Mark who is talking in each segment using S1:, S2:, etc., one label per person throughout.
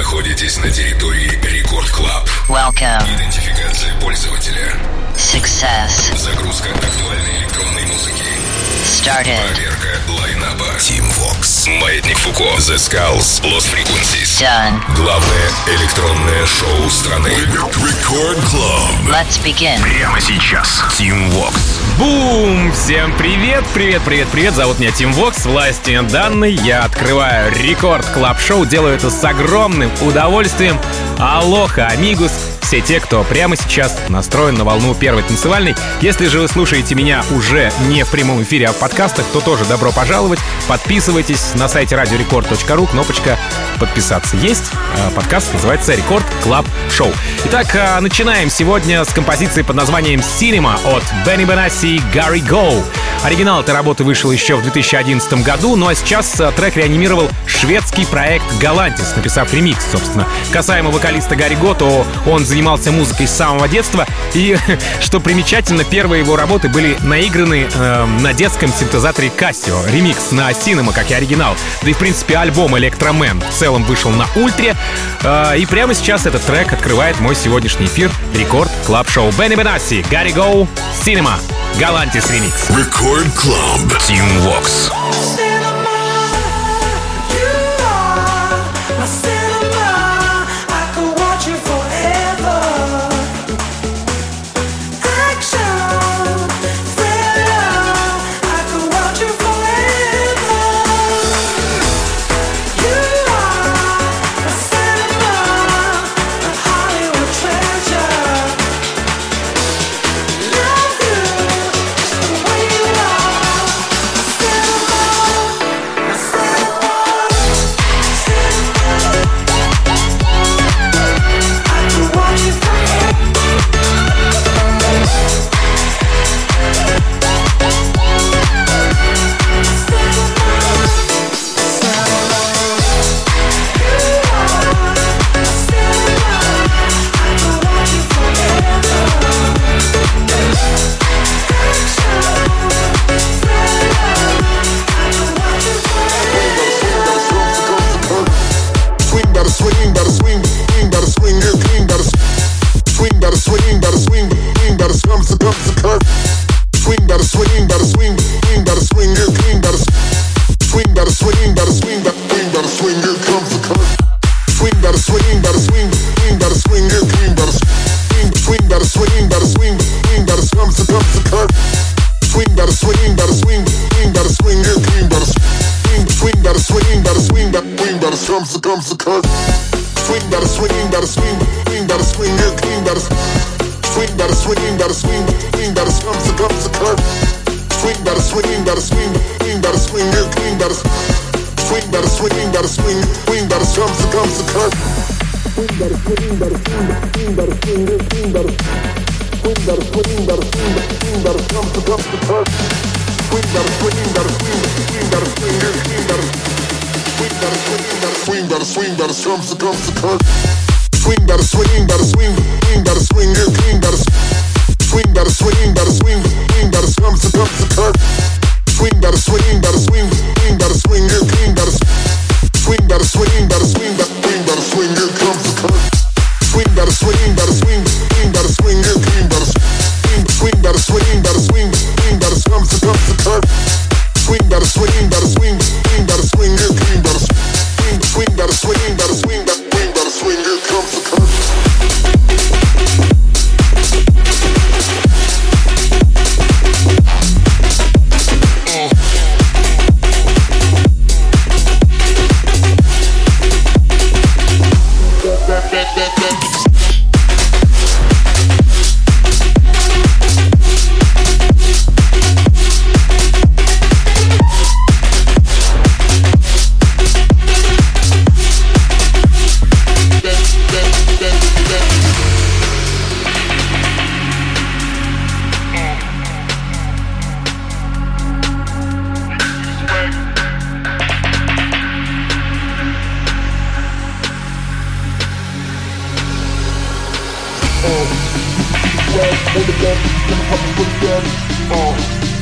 S1: находитесь на территории Рекорд Клаб.
S2: Welcome.
S1: Идентификация пользователя.
S2: Success.
S1: Загрузка актуальной электронной музыки.
S2: Started.
S1: Проверка лайнаба. Team Vox. Маятник Фуко. The Skulls. Lost Frequencies.
S2: Done.
S1: Главное электронное шоу страны. Рекорд Club.
S2: Let's begin.
S1: Прямо сейчас. Team Vox.
S3: Бум! Всем привет, привет, привет, привет. Зовут меня Team Vox, власти данной. Я открываю Рекорд Клаб Шоу. Делаю это с огромным удовольствием. Алоха, амигус. Все те, кто прямо сейчас настроен на волну первой танцевальной. Если же вы слушаете меня уже не в прямом эфире, а в подкастах, то тоже добро пожаловать. Подписывайтесь на сайте radiorecord.ru, кнопочка «Подписаться» есть. Подкаст называется «Рекорд Клаб Шоу». Итак, начинаем сегодня с композиции под названием «Cinema» от Бенни Бенасси и Гарри Гоу. Оригинал этой работы вышел еще в 2011 году, ну а сейчас трек реанимировал шведский проект Galantis, написав ремикс, собственно. Касаемо вокалиста Гарри Гоу, то он занимался музыкой с самого детства, и, что примечательно, первые его работы были наиграны на детском синтезаторе Casio. Ремикс на Cinema, как и оригинал. Да и, в принципе, альбом «Электромен» в целом вышел на Ультре. И прямо сейчас этот трек открывает мой сегодняшний эфир Рекорд Клаб Шоу. Бенни Бенасси, Гарри Гоу, Cinema, Galantis ремикс.
S1: Рекорд Клаб, Team Vox.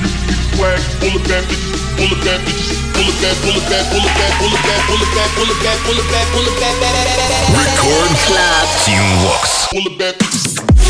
S4: swag, full of bad bitches, full of bad bitches, full of bad, full of bad, full of bad, full of bad, full of bad, full of bad, full of bad, full of bad.
S1: Record Club Team Vox.
S4: Full of bad bitches.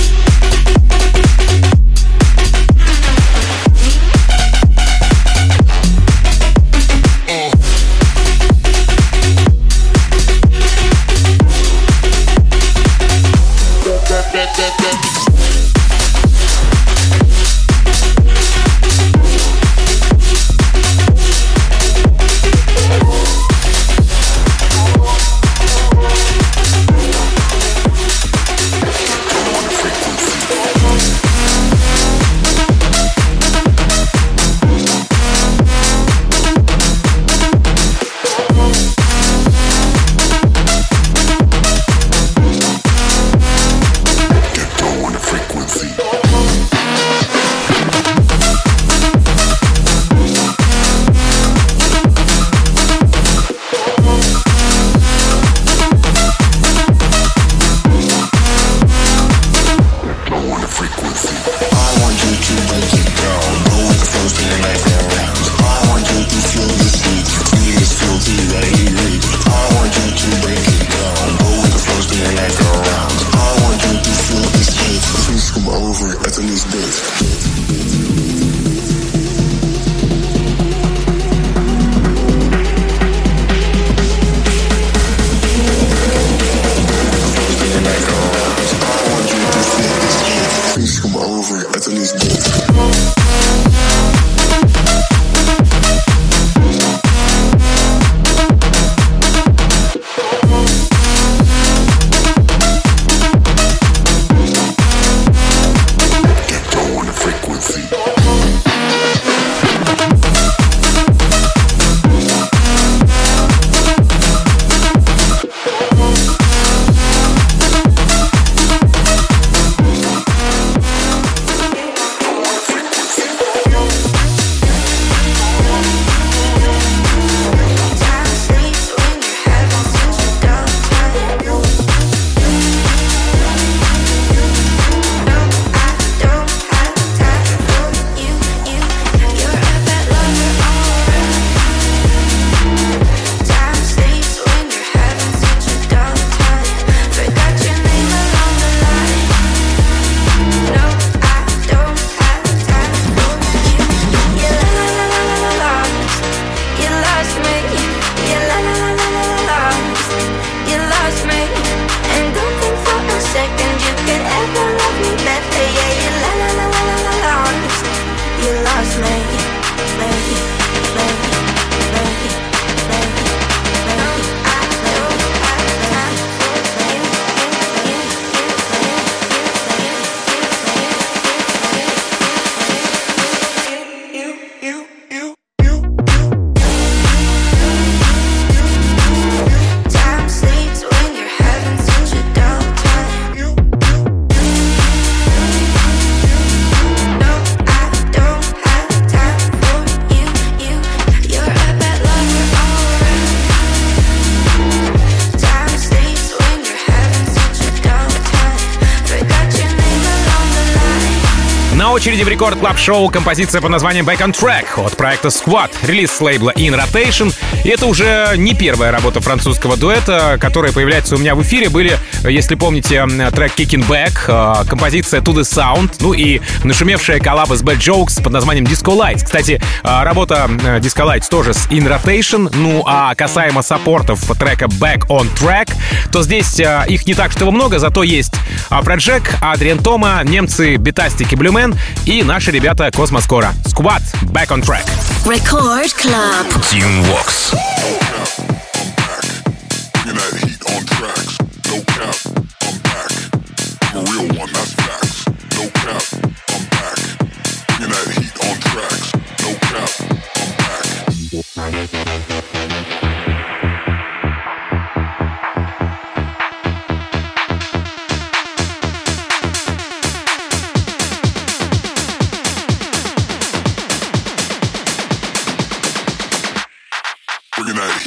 S3: На очереди в Рекорд Клаб Шоу композиция под названием Back on Track от проекта Squad, релиз с лейбла In Rotation. И это уже не первая работа французского дуэта, которая появляется у меня в эфире. Были, если помните, трек Kicking Back, композиция To The Sound, ну и нашумевшая коллаба с Bad Jokes под названием Disco Lights. Кстати, работа Disco Lights тоже с In Rotation. Ну а касаемо саппортов трека Back on Track, то здесь их не так, что много, зато есть Афроджек, Адриан Тома, немцы Бетастик и Блюмен и наши ребята Космоскора. Squad, Back on Track.
S2: Record Club.
S1: Team Vox.
S4: Bringing that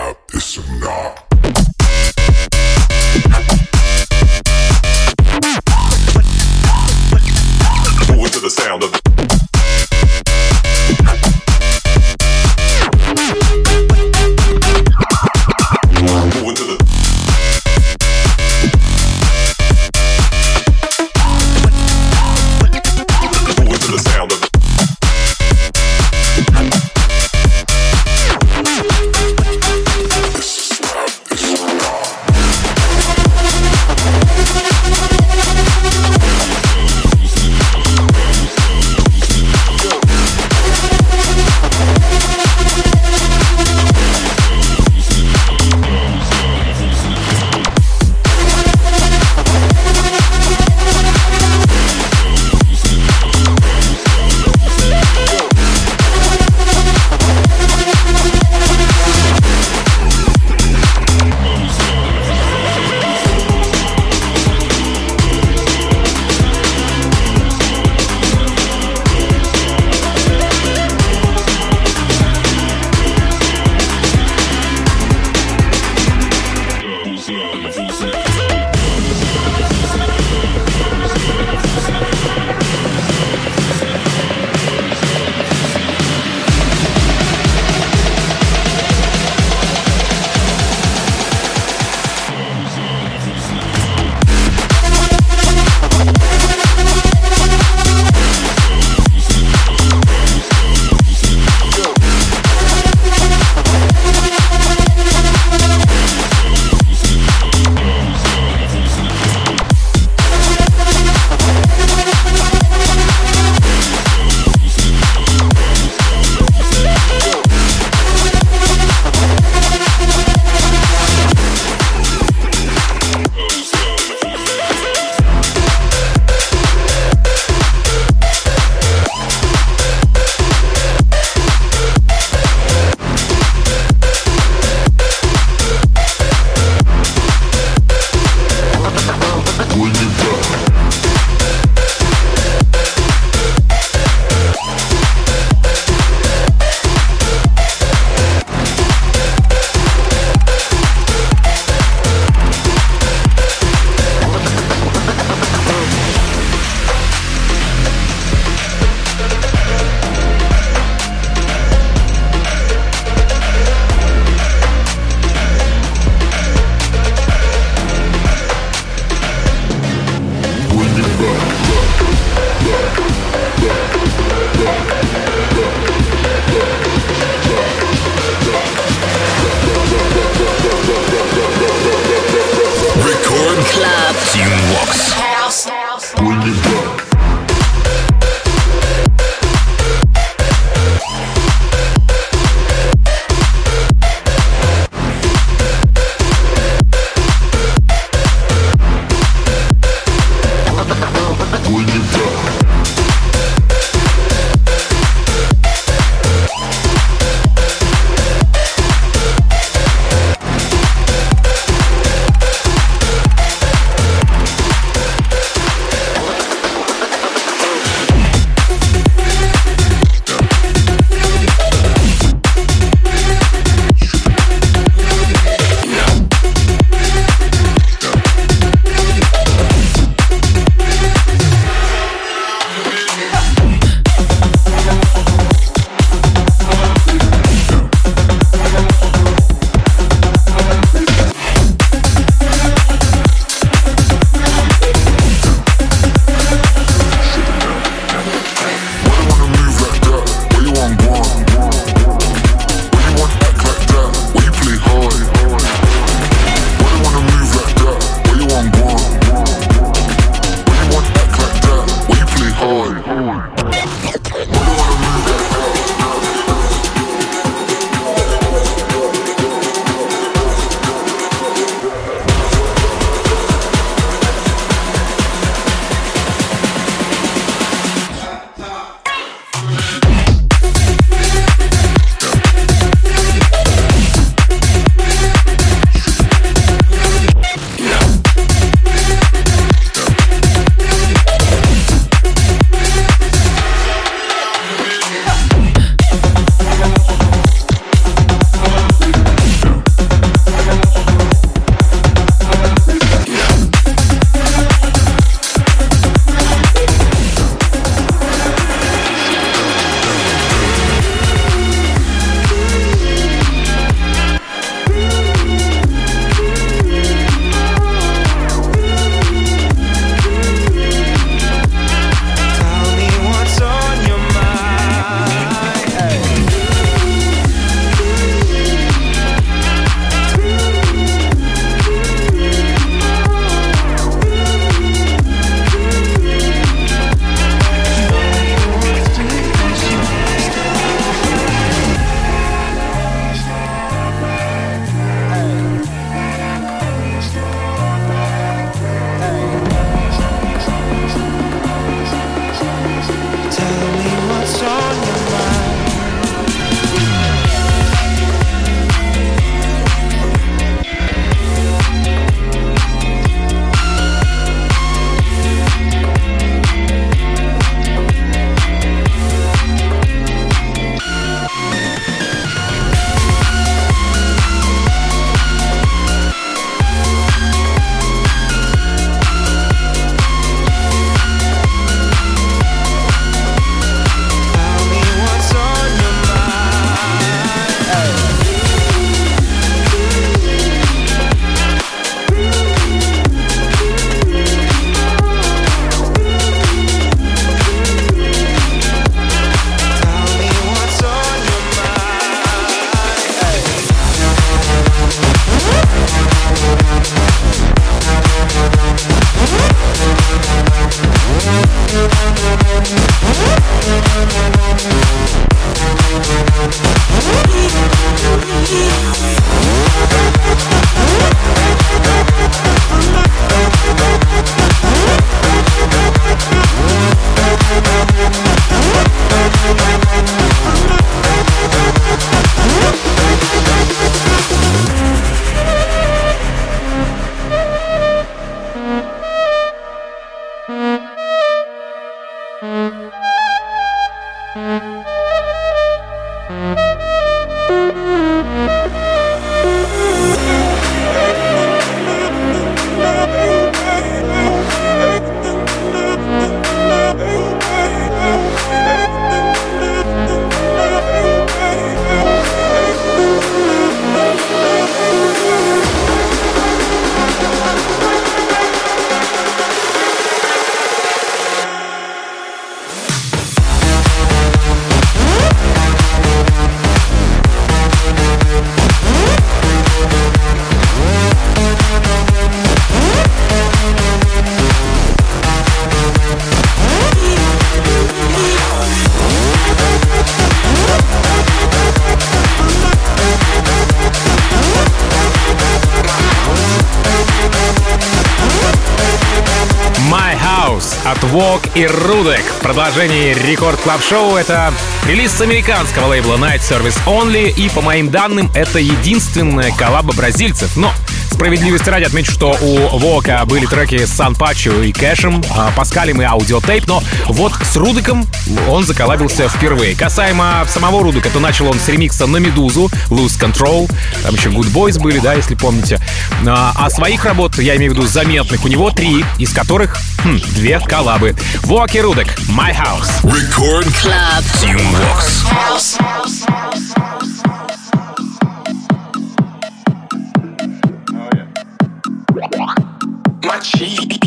S1: have this or not. Move to the sound of
S3: Walk и Rudek. В продолжении Рекорд Клаб Шоу это релиз с американского лейбла Night Service Only, и, по моим данным, это единственная коллаба бразильцев. Но справедливости ради отмечу, что у Вока были треки с Сан Пачо и Кэшем, Паскалем и аудиотейп, но вот с Рудеком он заколлабился впервые. Касаемо самого Рудека, то начал он с ремикса на Медузу, Lose Control, там еще Good Boys были, да, если помните. А своих работ, я имею в виду заметных, у него 3, из которых 2 коллабы. Вок и Рудек, My House.
S1: Record
S2: Club.
S1: Team Vox.
S5: My cheek.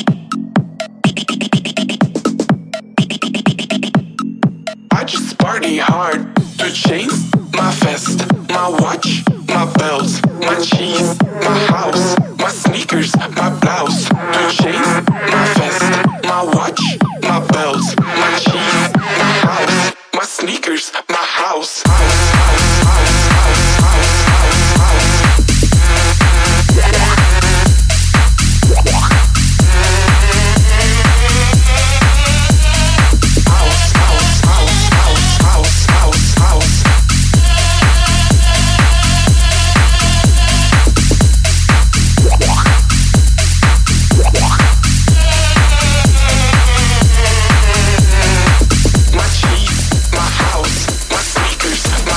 S5: I just party hard. The chains, my vest, my watch, my belts, my cheese, my house, my sneakers, my blouse. The chains, my vest, my watch, my belts, my cheese, my house, my sneakers, my house. My cheese, my house, my sneakers,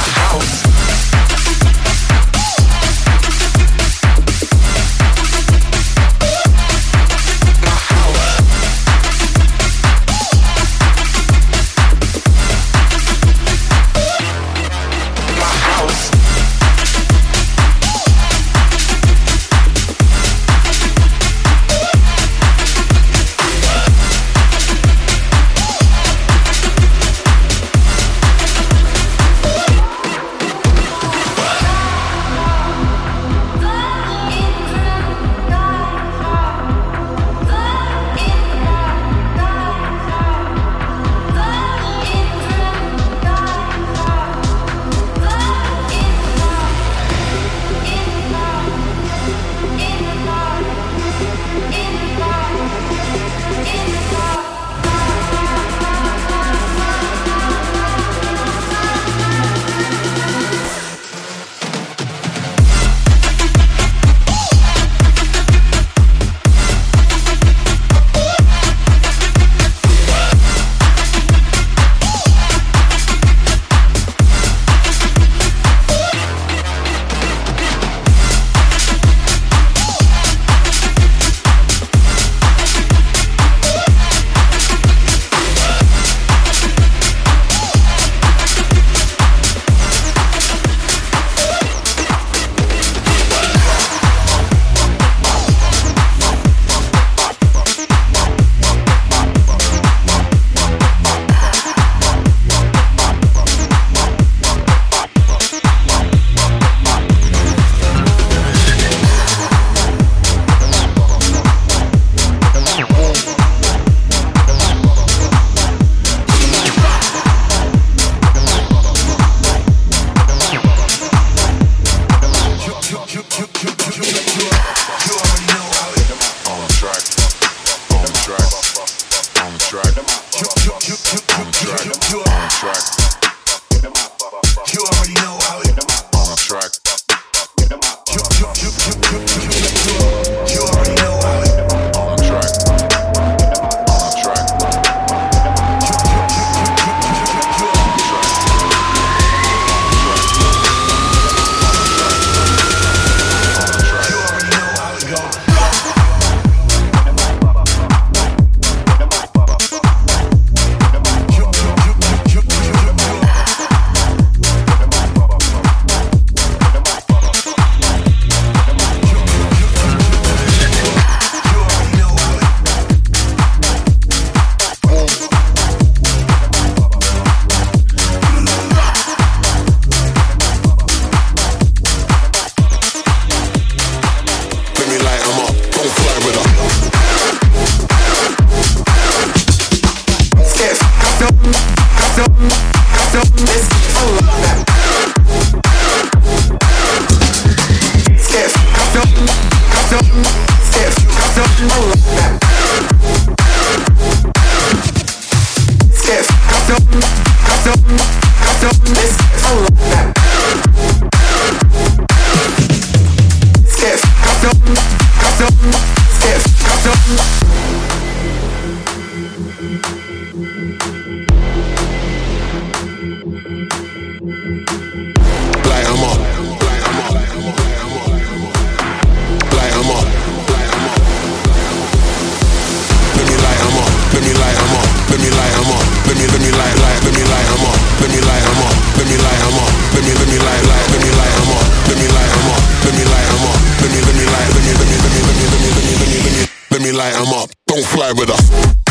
S6: Light 'em up, don't fly with us.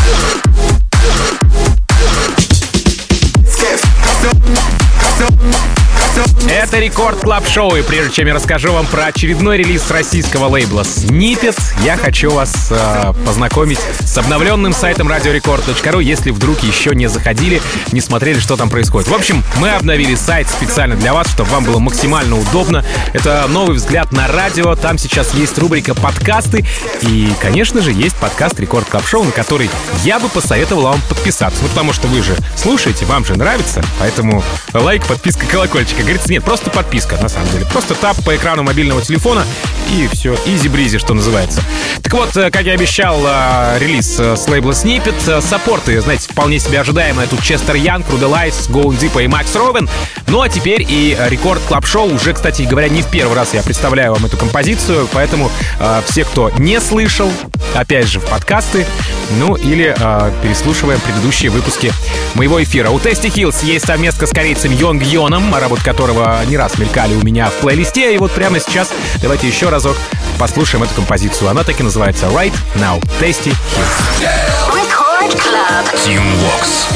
S3: Это Рекорд Клаб Шоу, и прежде чем я расскажу вам про очередной релиз российского лейбла Snippet, я хочу вас познакомить с обновленным сайтом radiorecord.ru, если вдруг еще не заходили, не смотрели, что там происходит. В общем, мы обновили сайт специально для вас, чтобы вам было максимально удобно. Это новый взгляд на радио, там сейчас есть рубрика «Подкасты», и, конечно же, есть подкаст Рекорд Клаб Шоу, на который я бы посоветовал вам подписаться. Ну, потому что вы же слушаете, вам же нравится, поэтому лайк, подписка, колокольчик. Говорится, нет, просто подписка, на самом деле. Просто тап по экрану мобильного телефона, и все, изи-бризи, что называется. Так вот, как я обещал, релиз с лейбла Snippet. Саппорты, знаете, вполне себе ожидаемые. Тут Честер Янг, Рудалайс, Гоун Дипа и Макс Робин. Ну а теперь и Рекорд Клаб Шоу. Уже, кстати говоря, не в первый раз я представляю вам эту композицию, поэтому все, кто не слышал, опять же, в подкасты, ну или переслушиваем предыдущие выпуски моего эфира. У Tasty Hills есть совместка с корейцем Йонг Йоном, работы которого не раз мелькали у меня в плейлисте. И вот прямо сейчас давайте еще разок послушаем эту композицию. Она так и называется Right Now. Tasty Hills.
S2: Record Club.
S1: Team Vox.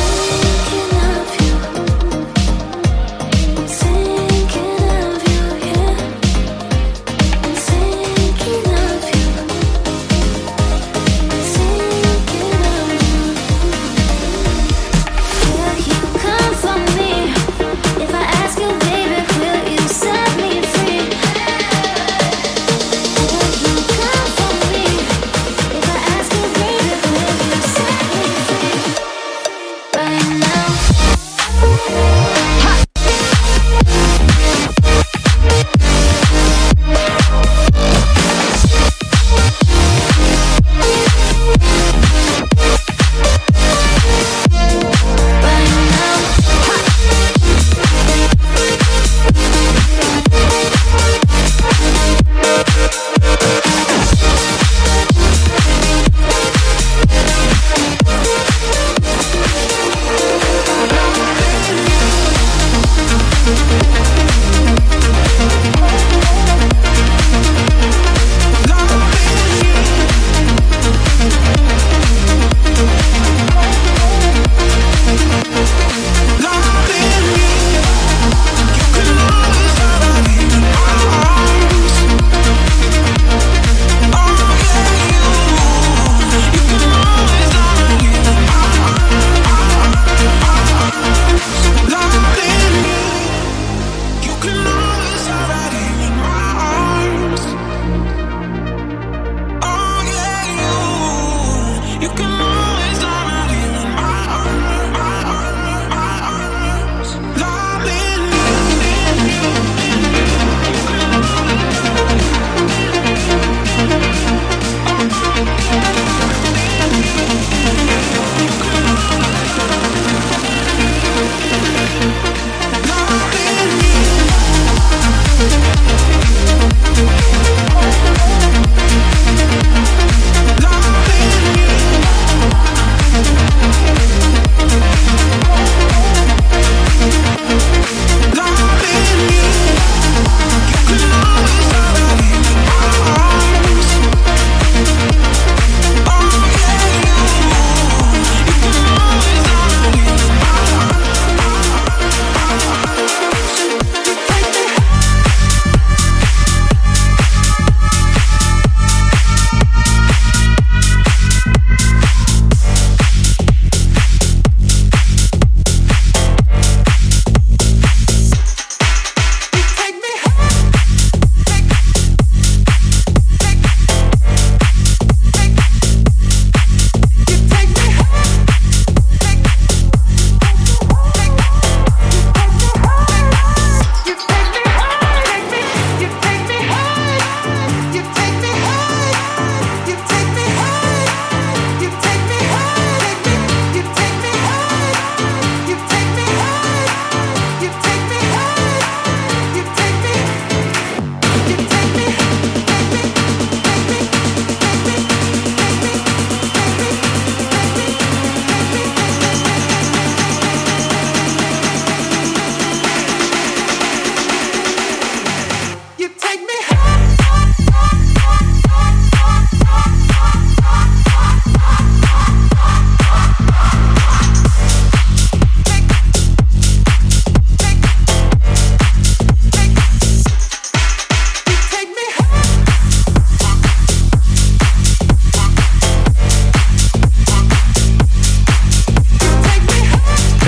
S7: Bye.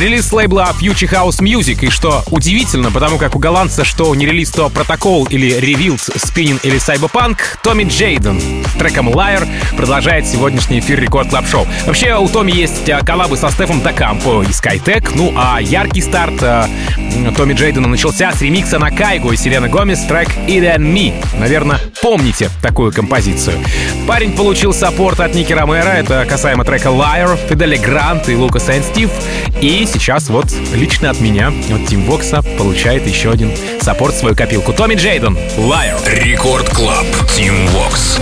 S3: Релиз с лейбла Future House Music, и что удивительно, потому как у голландца, что не релиз, то Protocol или Revealed, Spinning или Cyberpunk, Томми Джейден с треком Liar продолжает сегодняшний эфир Рекорд Клаб Шоу. Вообще у Томми есть коллабы со Стефом Дакампо и Skytech, ну а яркий старт Томми Джейдена начался с ремикса на Кайго и Селена Гомес трек It and Me. Наверное, помните такую композицию. Парень получил саппорт от Ники Ромеро, это касаемо трека Liar, Фиделя Грант и Лукас Энд Стив. И сейчас вот лично от меня, от Тим Вокса, получает еще один саппорт в свою копилку. Томми Джейден, Liar.
S1: Рекорд Клаб, Тим Вокс.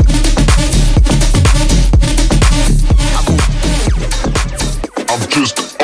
S6: Just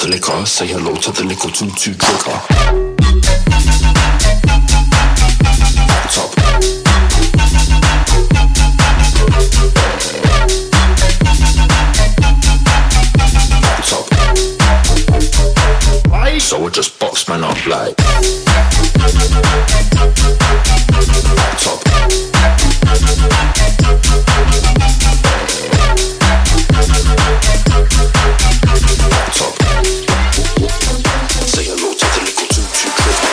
S5: the liquor. Say hello to the little tutu trigger. Top. Top. So I just box man up like. Top. Say hello to the little tutu trigger.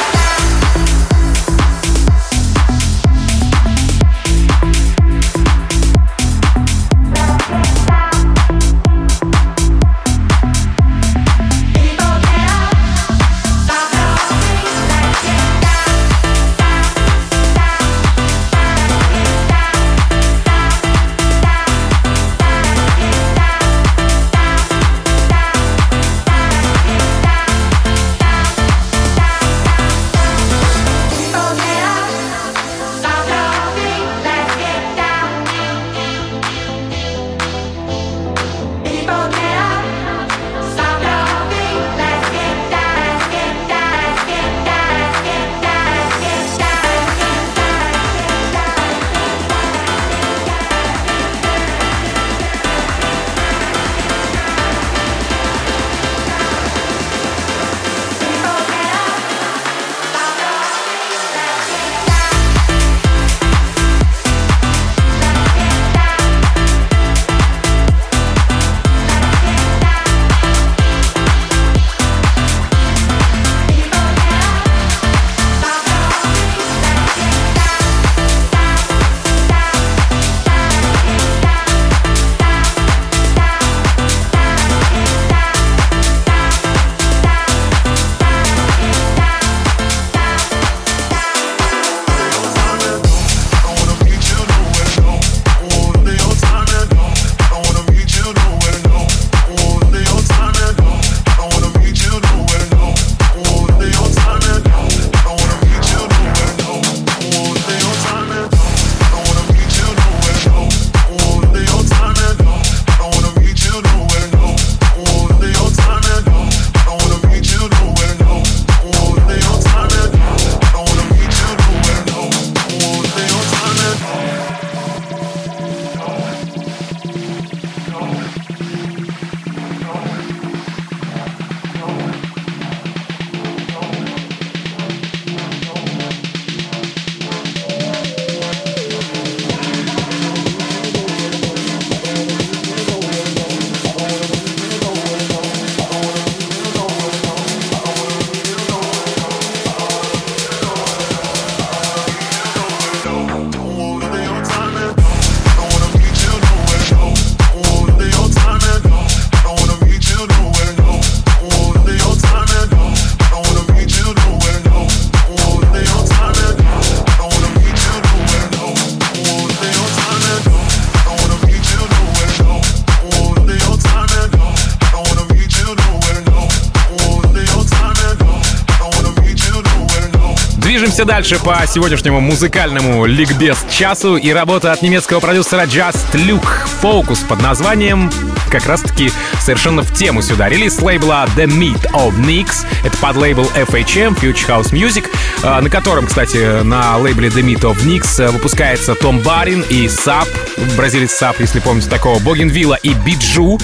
S3: Движемся дальше по сегодняшнему музыкальному ликбез часу, и работа от немецкого продюсера Just Luke Focus под названием как раз-таки совершенно в тему сюда. Релиз лейбла The Meat of Nix. Это под лейбл FHM, Future House Music, на котором, кстати, на лейбле The Meat of Nix выпускается Том Барин и Сап, бразилец Сап, если помните такого, Bougainvillea и Биджу.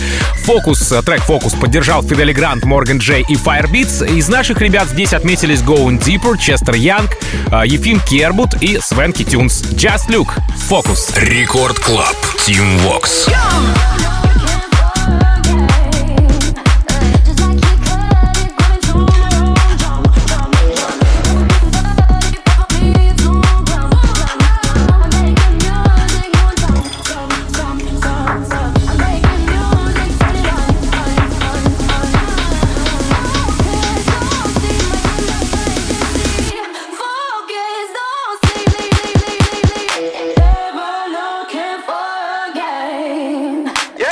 S3: Трек Focus поддержал Фидели Грант, Морган Джей и Firebeats. Из наших ребят здесь отметились Going Deeper, Честер Янг, Ефим Кербут и Свенки Тюнс. Just Luke Focus.
S1: Рекорд Клаб. Team Vox.
S7: Yeah.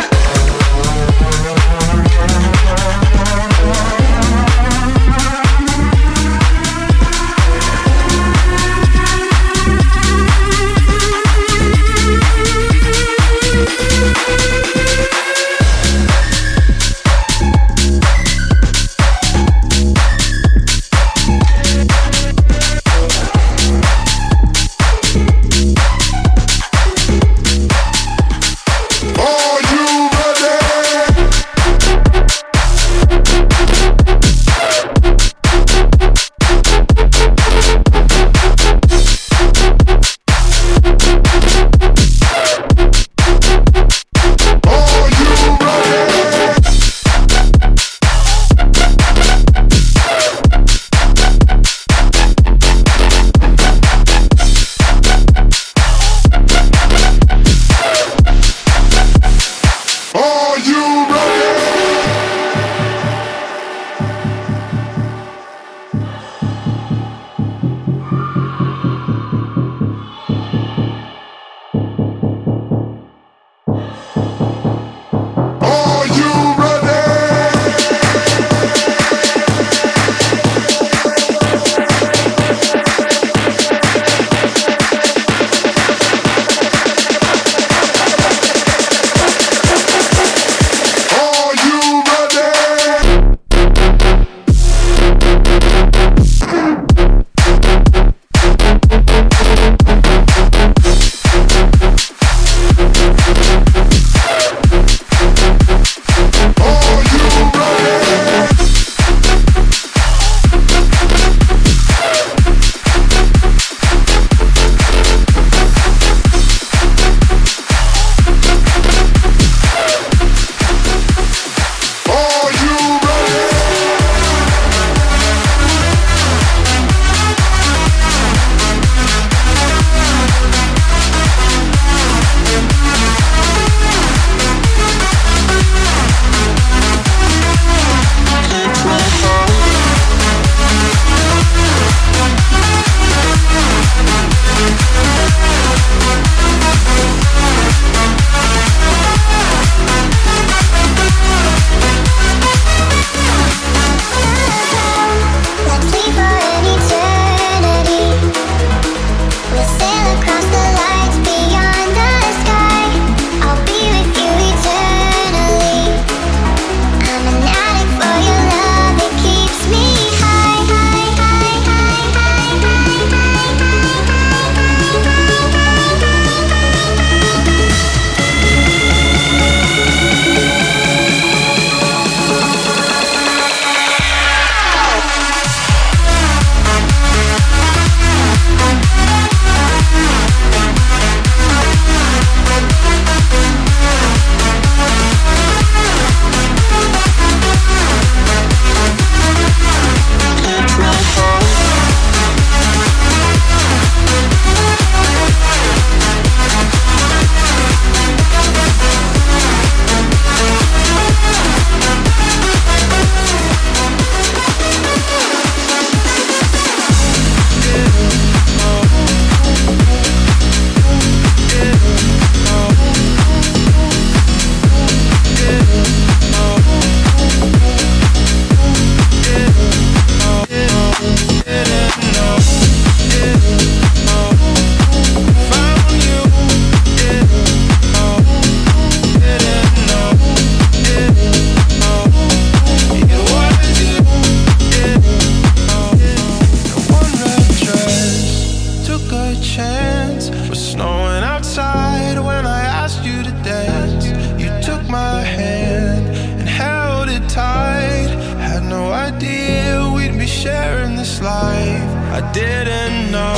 S5: a chance. Was snowing outside when I asked you to dance. You took my hand and held it tight. Had no idea we'd be sharing this life. I didn't know.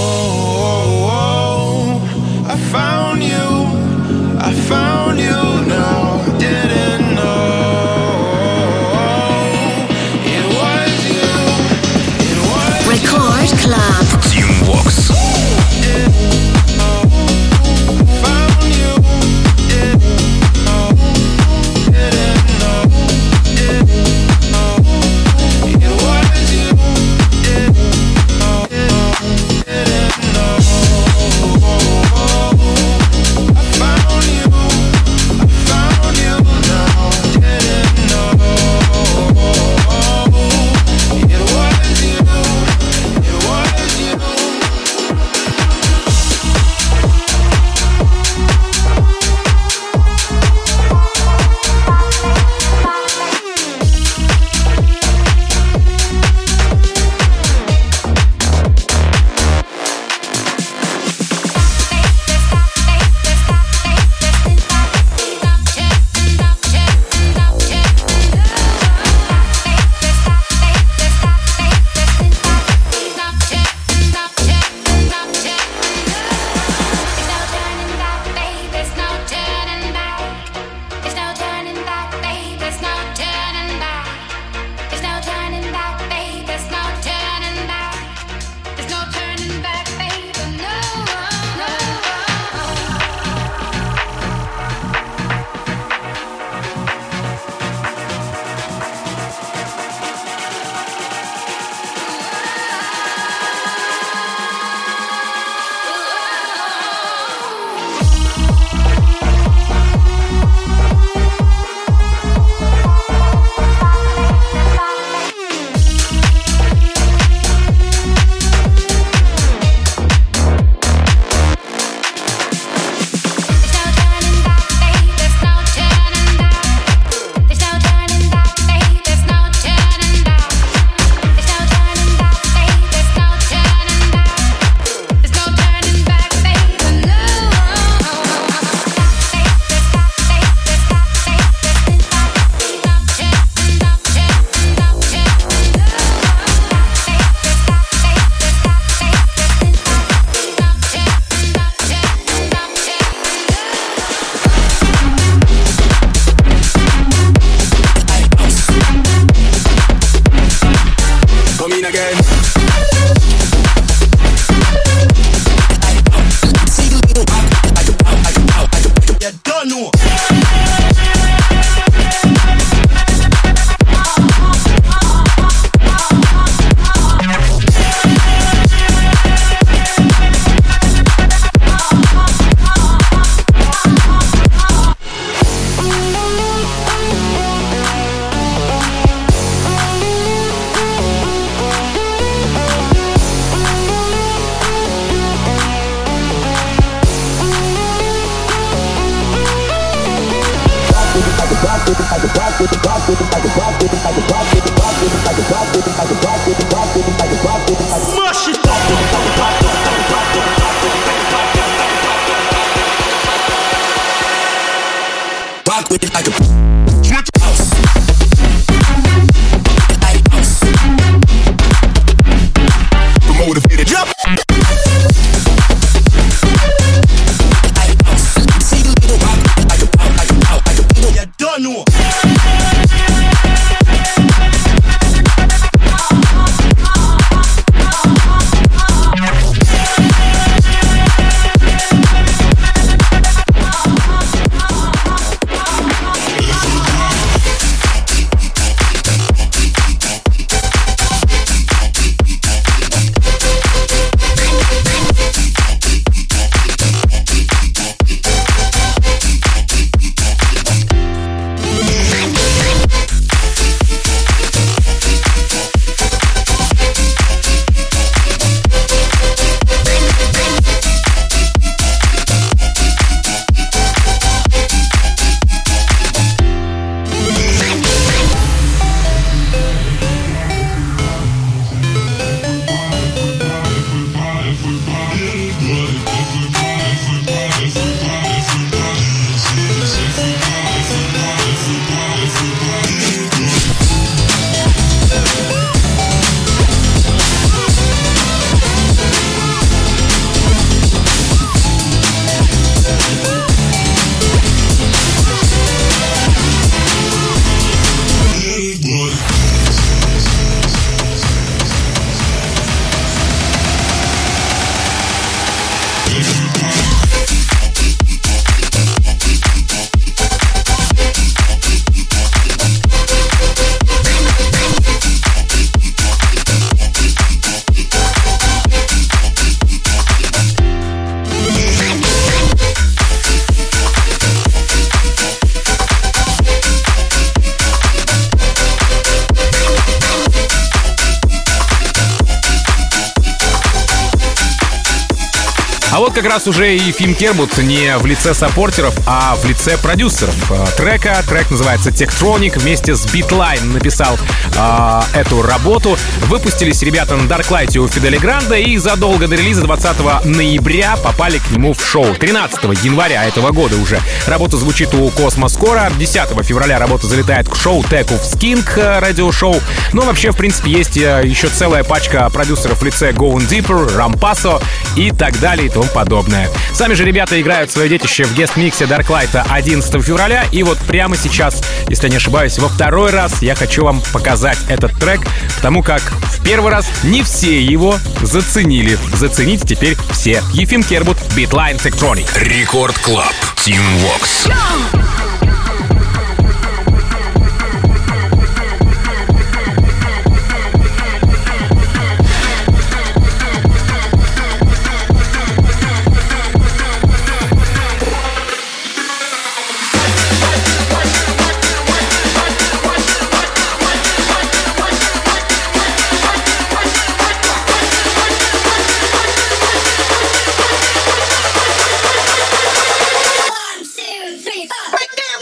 S5: I found you now. I didn't know. It was you.
S2: Record Club.
S1: Team Vox.
S3: А вот как раз уже и Фим Кербут не в лице саппортеров, а в лице продюсеров трека. Трек называется Tektronic. Вместе с Beatline написал эту работу. Выпустились ребята на Darklight у Фиделя Гранда и задолго до релиза 20 ноября попали к нему в шоу. 13 января этого года уже работа звучит у Космоскора. 10 февраля работа залетает к шоу Tech of Skink радиошоу. Но вообще, в принципе, есть еще целая пачка продюсеров в лице Going Deeper, Rampasso и так далее и тому подобное. Сами же ребята играют свое детище в гест-миксе Darklight 11 февраля. И вот прямо сейчас, если я не ошибаюсь, во второй раз я хочу вам показать этот трек, потому как в первый раз не все его заценили. Зацените теперь все. Ефим Кербут, Beatline, Tektronic.
S1: Рекорд Клаб. Team Vox.
S7: One, two, three, four. Break down.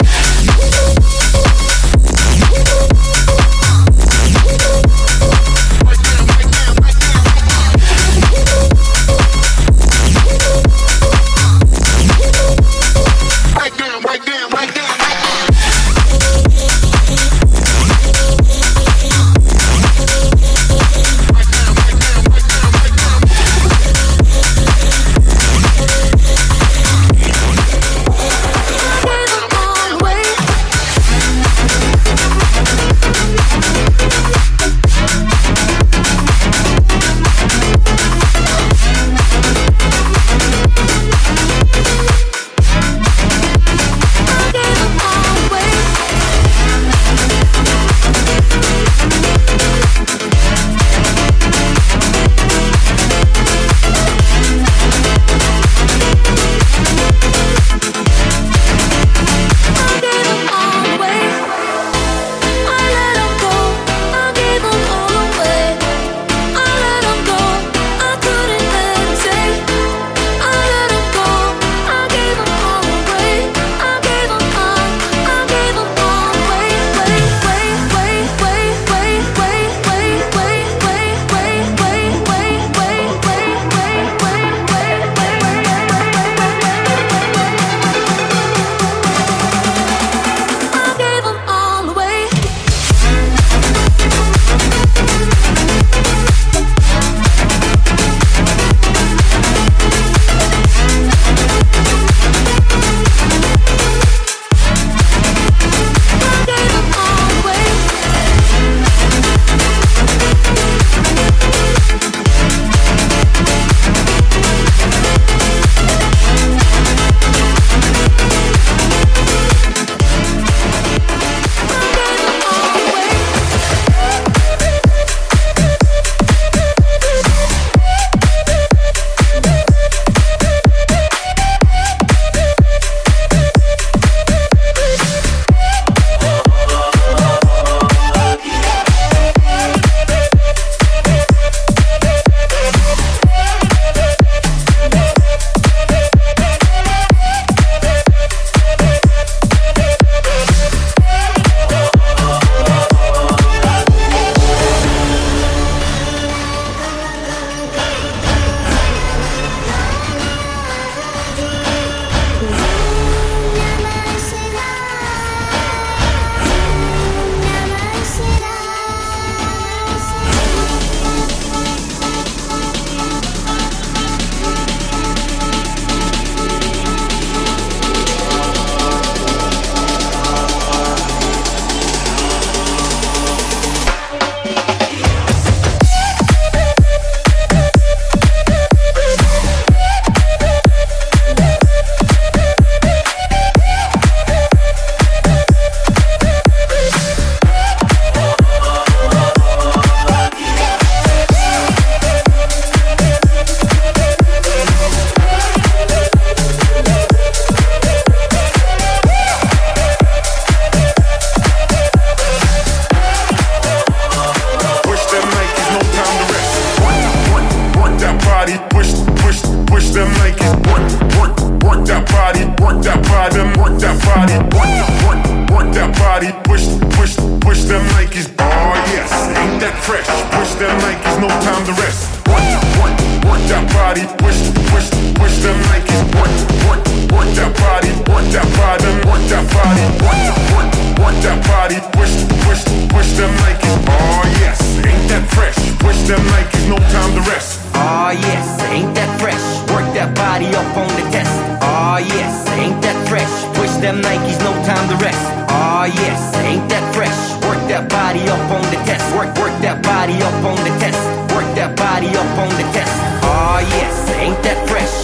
S5: them Nikes. Work that body, work that body, work that body, work that body, push them Nikes. Oh yes, ain't that fresh? Push them Nikes, no time to rest. Work that body, push them Nikes. Work that body, work that body, work that body, work that body, push them Nikes. Oh yes, ain't that fresh? Push them Nikes, no time to rest.
S7: Oh yes, ain't that fresh? Work that body up on the test. Oh yes, ain't that fresh? Push them Nikes, no time to rest. Oh yes, ain't that fresh? Work that body up on the test. Work that body up on the test. Work that body up on the test. Oh yes, ain't that fresh?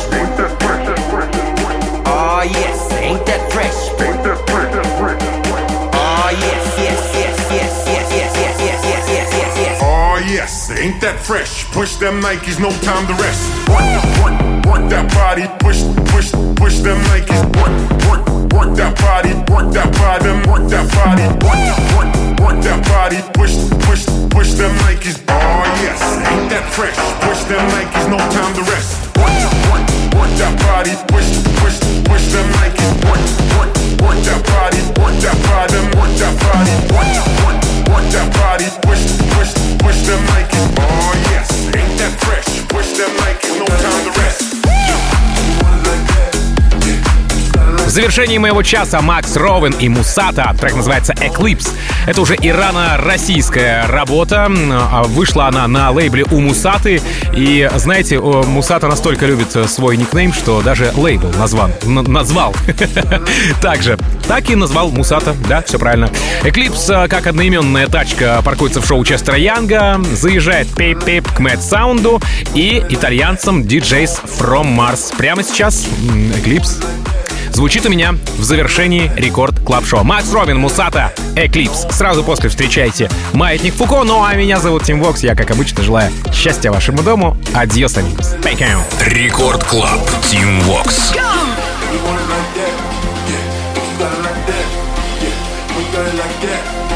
S7: Oh yes, ain't that fresh? Oh yes, yes.
S5: Oh yes, ain't that fresh? Push them Nikes, no time to rest. Work that body, push them Nikes. Work that body, work that body, work that body, work that body, push them Nikes. Oh yes, ain't that fresh? Push them Nikes, no time to rest. Work that body, push them Nikes. Work that body, work that body, work that body, work that body, push them Nikes. Oh yes, ain't that fresh? Push them Nikes, no time to rest.
S3: В завершении моего часа Макс Ровен и Мусата. Трек называется Eclipse. Это уже ирано-российская работа. Вышла она на лейбле у Мусаты. И, знаете, Мусата настолько любит свой никнейм, что даже лейбл назвал. Так и назвал Мусата. Да, все правильно. Eclipse, как одноименная тачка, паркуется в шоу Честера Янга, заезжает пип-пип к Mad Sound и итальянцам DJs from Mars. Прямо сейчас Eclipse звучит у меня в завершении Рекорд Клаб Шоу. Макс Ровен, Мусата, Eclipse. Сразу после встречайте Маятник Фуко. Ну а меня зовут Тим Вокс. Я, как обычно, желаю счастья вашему дому. Адьос, амигос.
S1: Рекорд Клаб. Тим Вокс.
S5: Like that.